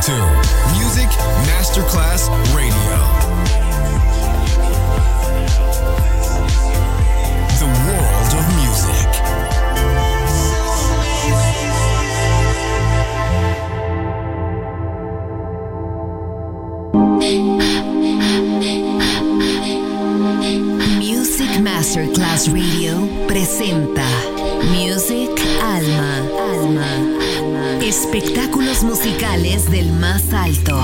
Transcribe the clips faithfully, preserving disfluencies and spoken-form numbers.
to Music Masterclass Radio. The world of music. Music Masterclass Radio presenta Music Alma. Alma. Espectáculos musicales del más alto.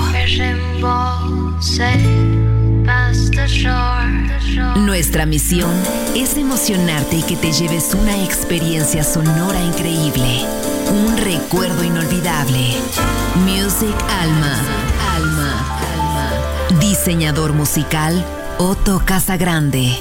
Nuestra misión es emocionarte y que te lleves una experiencia sonora increíble, un recuerdo inolvidable. Music Alma. Alma. Alma. Diseñador musical Otto Casagrande.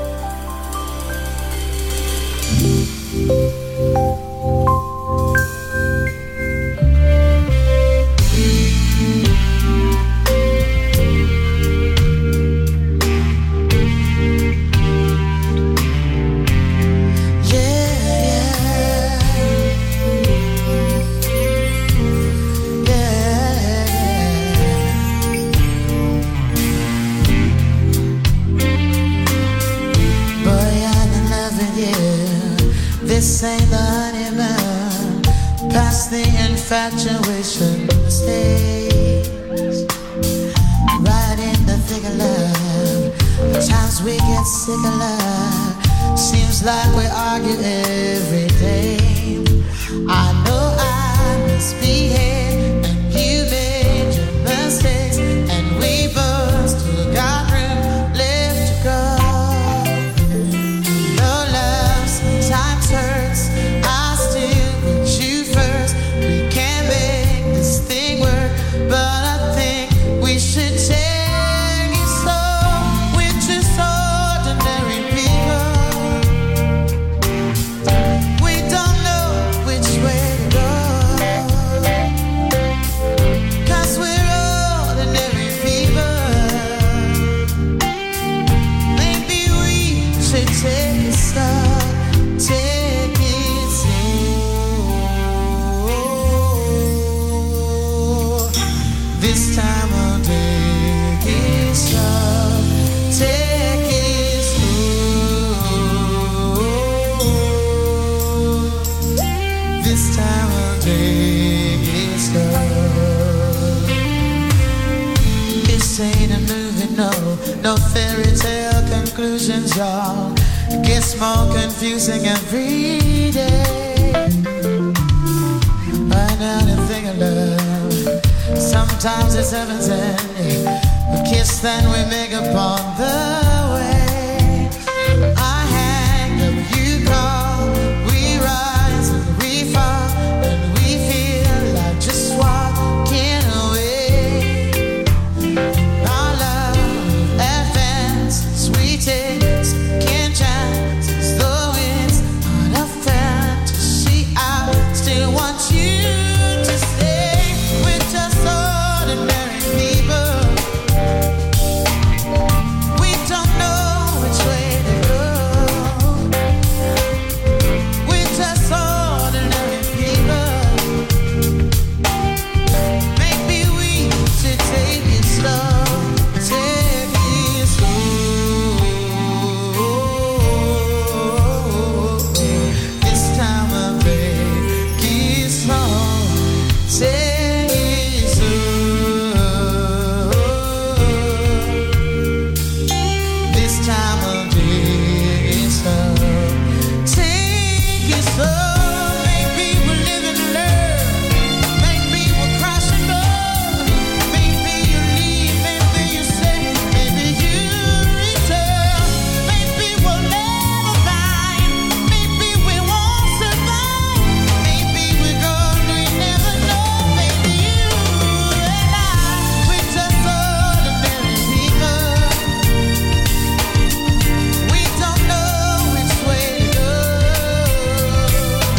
Infatuation stays right in the thick of love. The times we get sick of love, seems like we argue every day. I know I misbehaved and you made your mistakes, and we both still got room left to go. No love sometimes hurts, I still put you first. We can't make this thing work, but I think we should take it slow. We're just ordinary people. We don't know which way to go, 'cause we're ordinary people. Maybe we should take it slow, take it slow. This time I'll take it slow, take it slow. This time I'll take it slow. This ain't a movie, no, no fairy tale conclusions, y'all. It gets more confusing every day. Right now the thing of love, sometimes it's heaven sent. We kiss, then we make up on the way. I hang up, you call, we rise and we fall, and we feel like just walking away. Our love advances, we take second chances, though it's not a fantasy. I still want you to stay. We're just ordinary people. We don't know which way to go. We're just ordinary people. Maybe we should take it slow, take it slow. This time I'll take it slow, take it slow. This time I'll take it slow, take it slow. Maybe we're living in love, maybe we're crashing love. Maybe you leave, maybe you stay, maybe you return. Maybe we'll never find, maybe we won't survive. Maybe we're gone, we never know. Maybe you and I, we're just ordinary people. We don't know which way to go.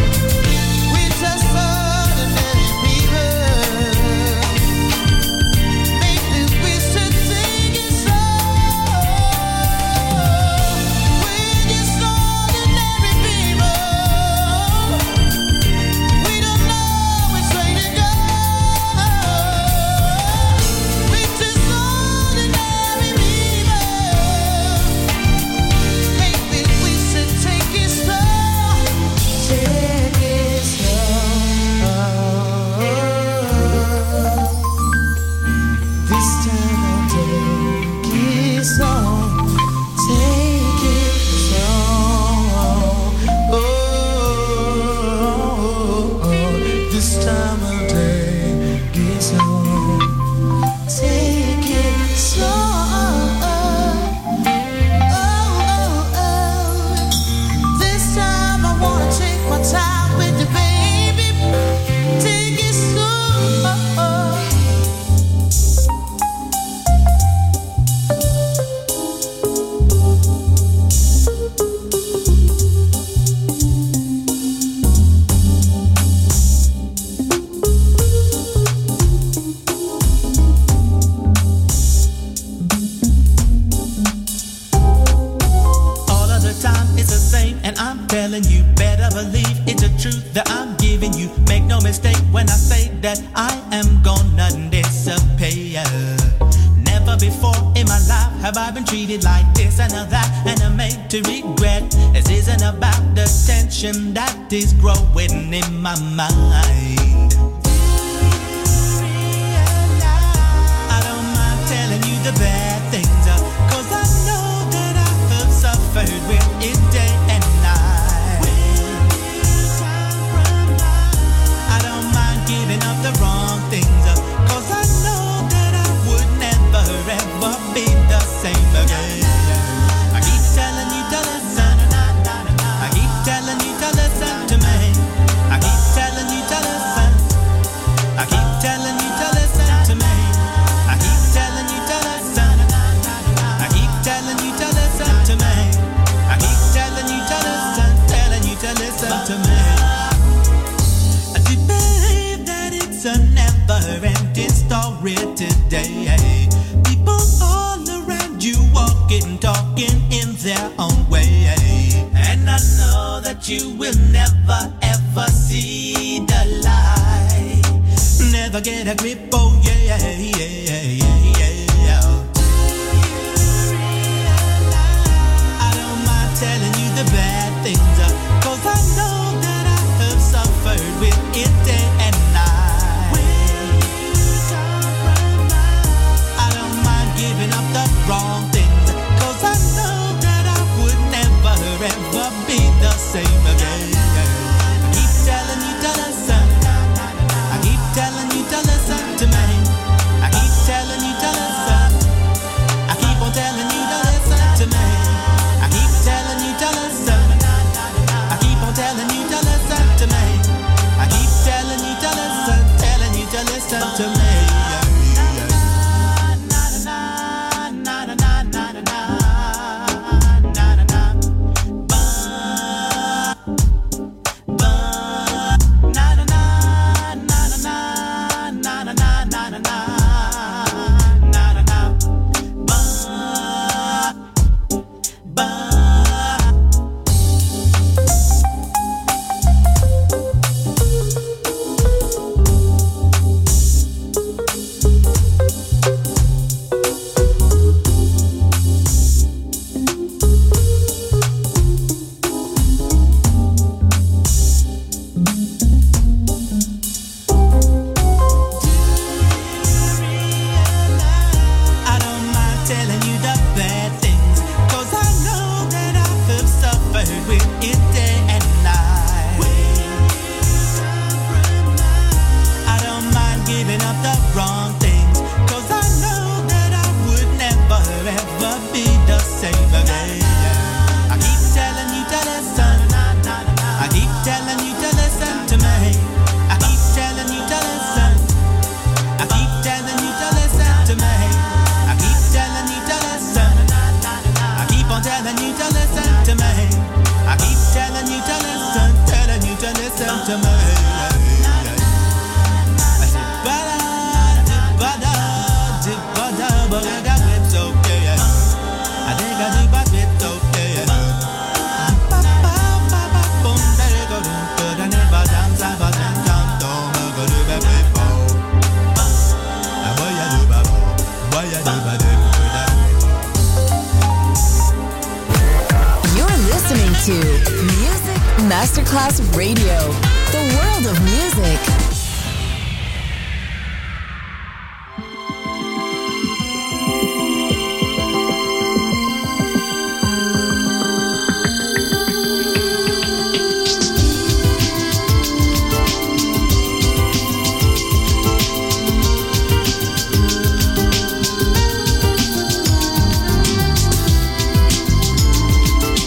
Masterclass Radio, the world of music.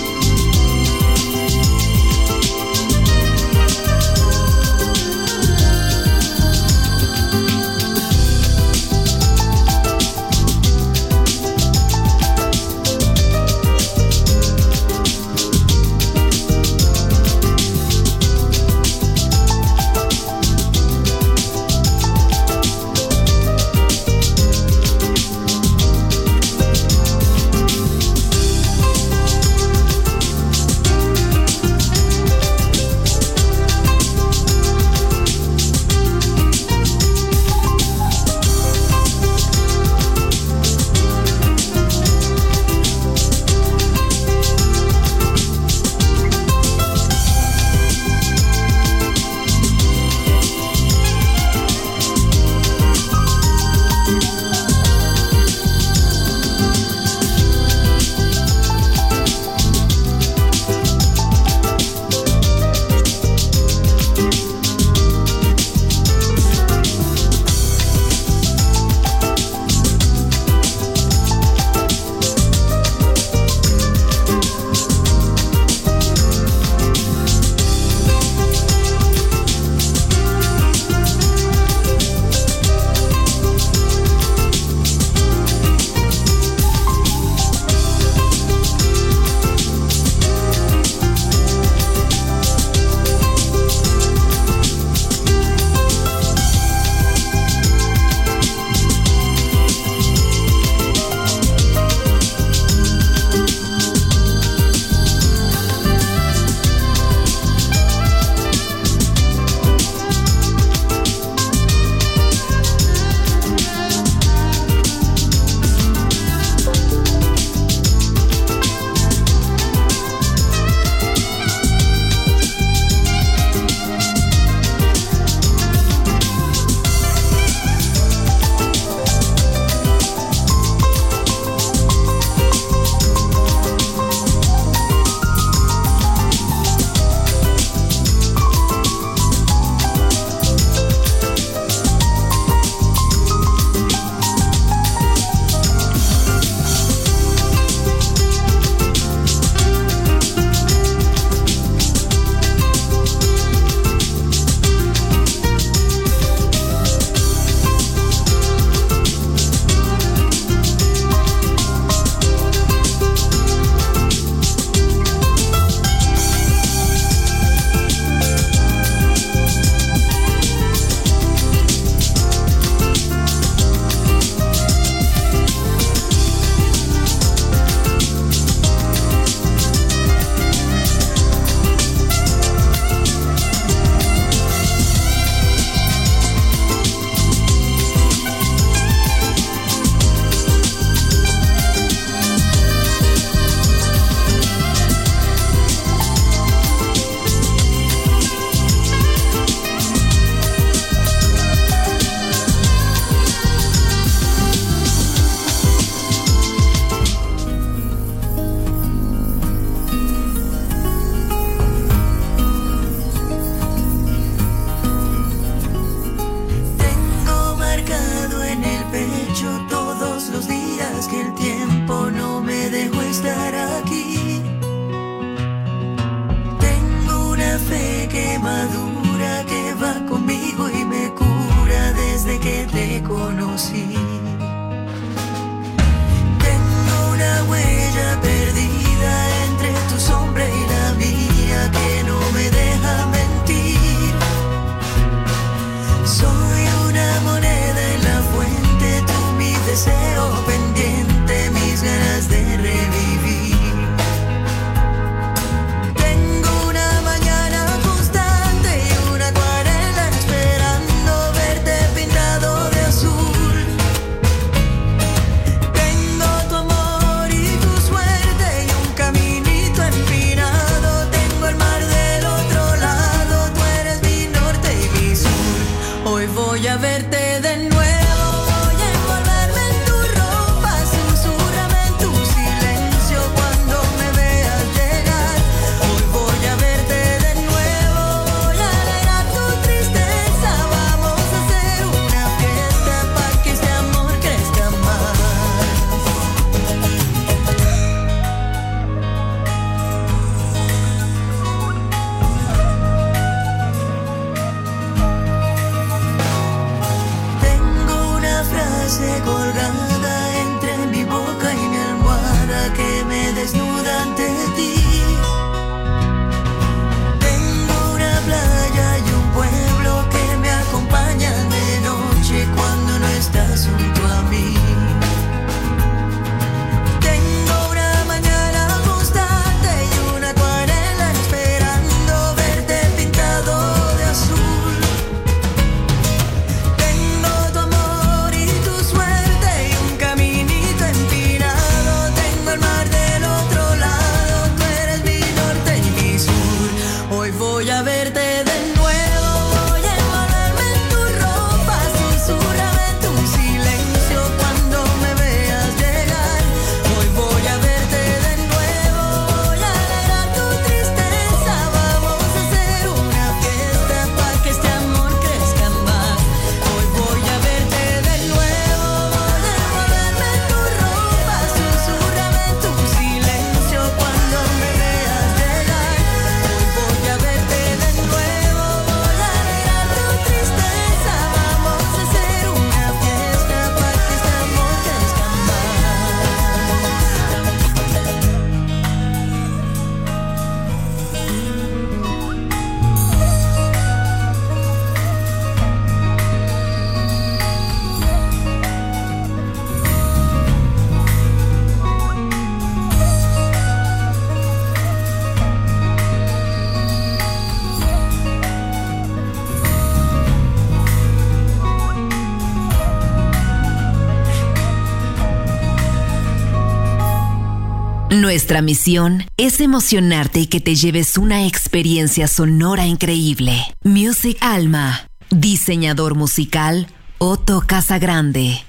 Thank voy a verte de nuevo. Voy a envolverme en tu ropa, susurrame en tu silencio cuando me veas llegar. Hoy voy a verte de nuevo, voy a alegrar tu tristeza. Vamos a hacer una fiesta para que este amor crezca más. Colgada entre mi boca y mi almohada que me desnuda ante ti. Tengo una playa y un pueblo que me acompañan de noche cuando no estás junto a mí. Tengo una mañana constante y una acuarela esperando verte pintado de azul. Voy a verte de nuevo, voy a envolverme en tu ropa, susurrame en tu silencio cuando me veas llegar. Hoy voy a verte de nuevo, voy a alegrar tu tristeza. Vamos a hacer una fiesta para que este amor crezca más. Hoy voy a verte de nuevo, voy a envolverme en tu ropa, susurrame en tu silencio cuando me veas llegar. Hoy voy a verte de nuevo, voy a alegrar tu tristeza. Vamos a hacer una fiesta para que este amor crezca Nuestra misión es emocionarte y que te lleves una experiencia sonora increíble. Music Alma. Diseñador musical, Otto Casagrande.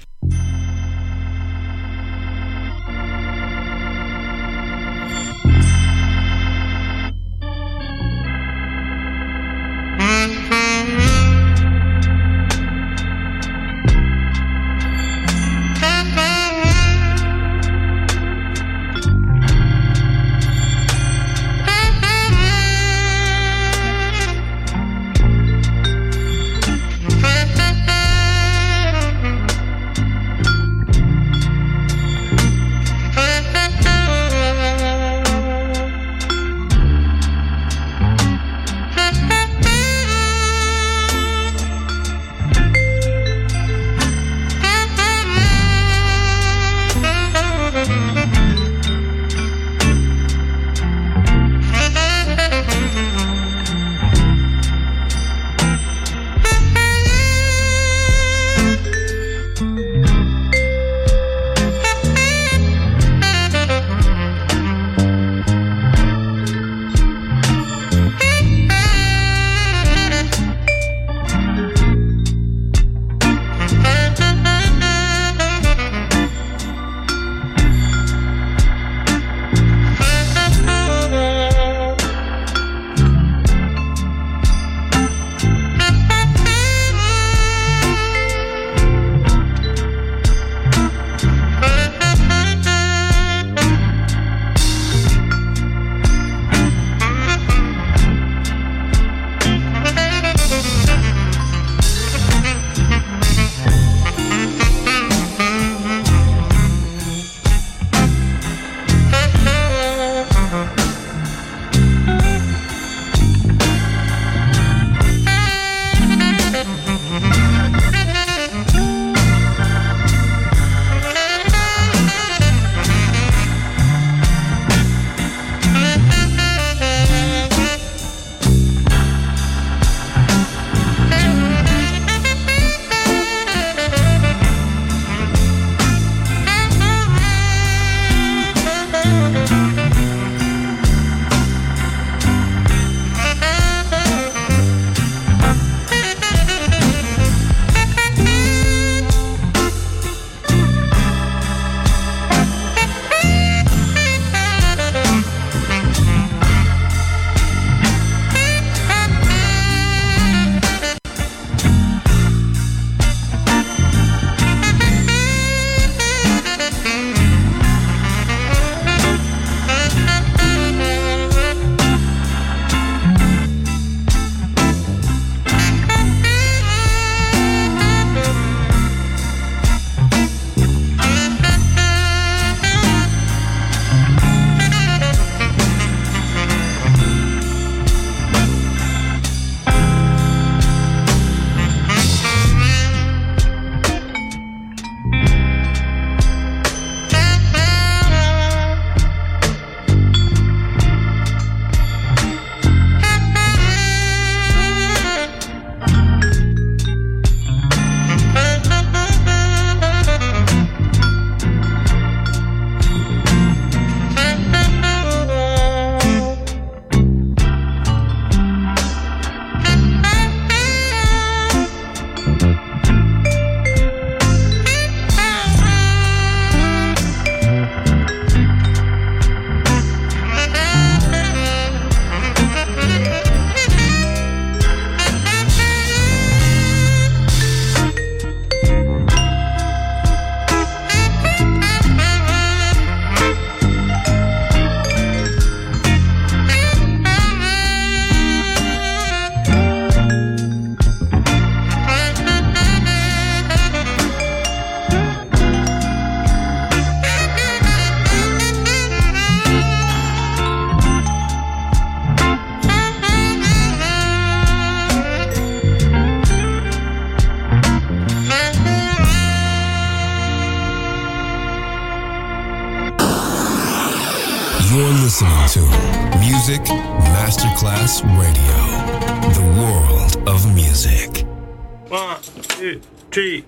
to Music Masterclass Radio, the world of music. One, two, three.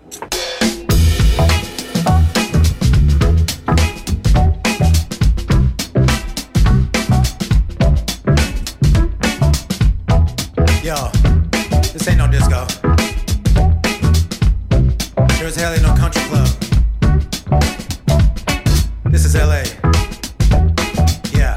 Yo, this ain't no disco. Sure as hell ain't no country club. This is L A. Yeah.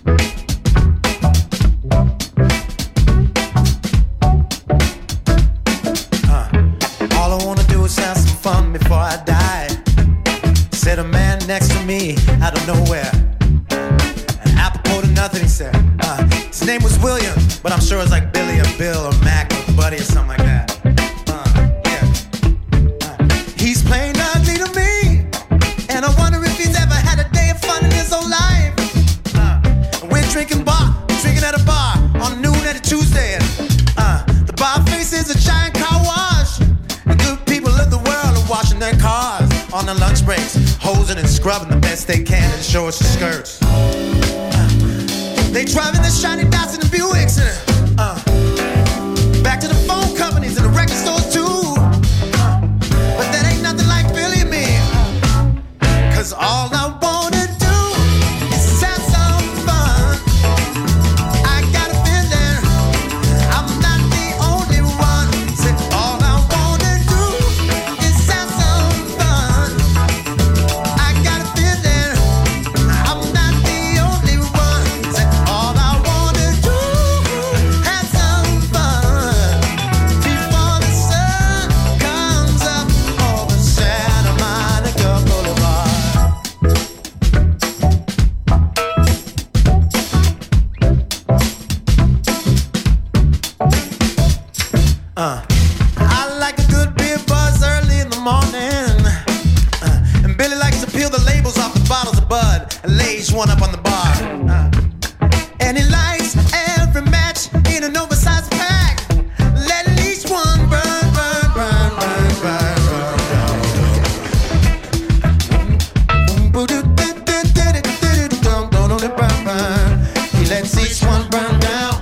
Uh, all I wanna do is have some fun before I die. Said a man next to me out of nowhere. And apropos to nothing, he said. Uh, his name was William, but I'm sure it's like Billy or Bill or Mac or Buddy or something like that. Uh, yeah. Uh, he's plain ugly to me, and I wonder if he's ever had a day of fun in his whole life. Uh, and we're drinking bar, drinking at a bar on noon at a Tuesday. And, uh, the bar faces a giant car wash. The good people of the world are washing their cars on their lunch breaks, hosing and scrubbing the best they can in shorts and skirts. Uh, they driving the shiny Datsun and Buicks. And, uh, back to the phone companies and the record stores too. Uh, but that ain't nothing like Billy and me. Cause all I wanna do is have some fun. I got a feeling I'm not the only one. Say all I wanna do is have some fun. I got a feeling I'm not the only one. Say all I wanna do, have some fun before the sun comes up over Santa Monica Boulevard. Uh, I like a good beer buzz early in the morning. Uh, and Billy likes to peel the labels off the bottles of Bud and lays one up on the bar. Uh, and he lights every match in an oversized pack. Let at least one burn, burn, burn, burn, burn, burn, burn. He lets each one burn down.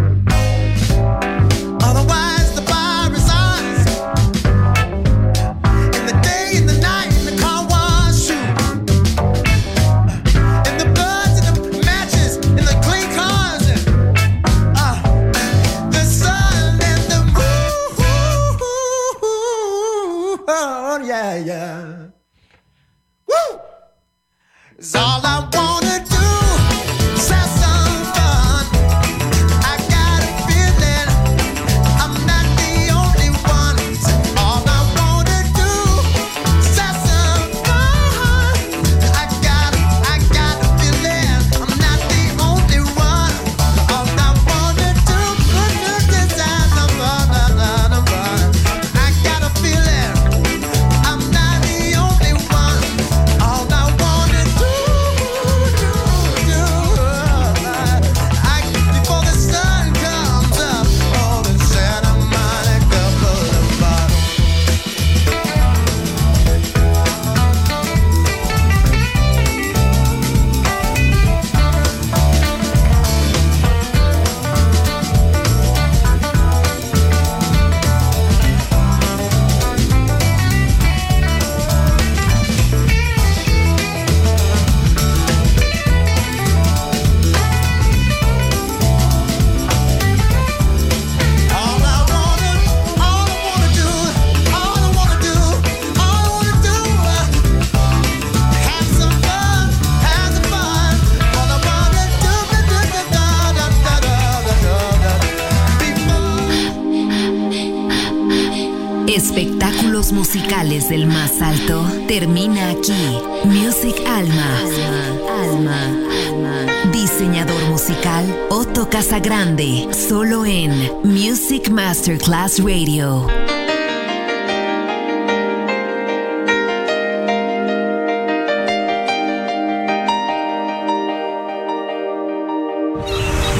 Otherwise, the bar is ours. In the day, in the night, in the car wash, shoot. In the bloods, in the matches, in the clean cars. Uh, the sun and the moon. Oh, yeah, yeah. Woo! It's all I wanna do. Is have some fun. I got a feeling I'm not the only one. So all I wanna do is have some fun. I got, I got a feeling I'm not the only one. All I wanna do is have some fun, fun. I got a feeling I'm not the only one. All I wanna do, do, do, I, before the sun comes up over Santa Monica Boulevard. All I wanna, all I wanna do, all I wanna do, all I wanna do, have some fun, have some fun. All I wanna do, da da da da da da da da. Before Espectáculos musicales del más alto termina aquí. Music Alma. Alma. Alma. Diseñador musical Otto Casagrande. Solo en Music Masterclass Radio.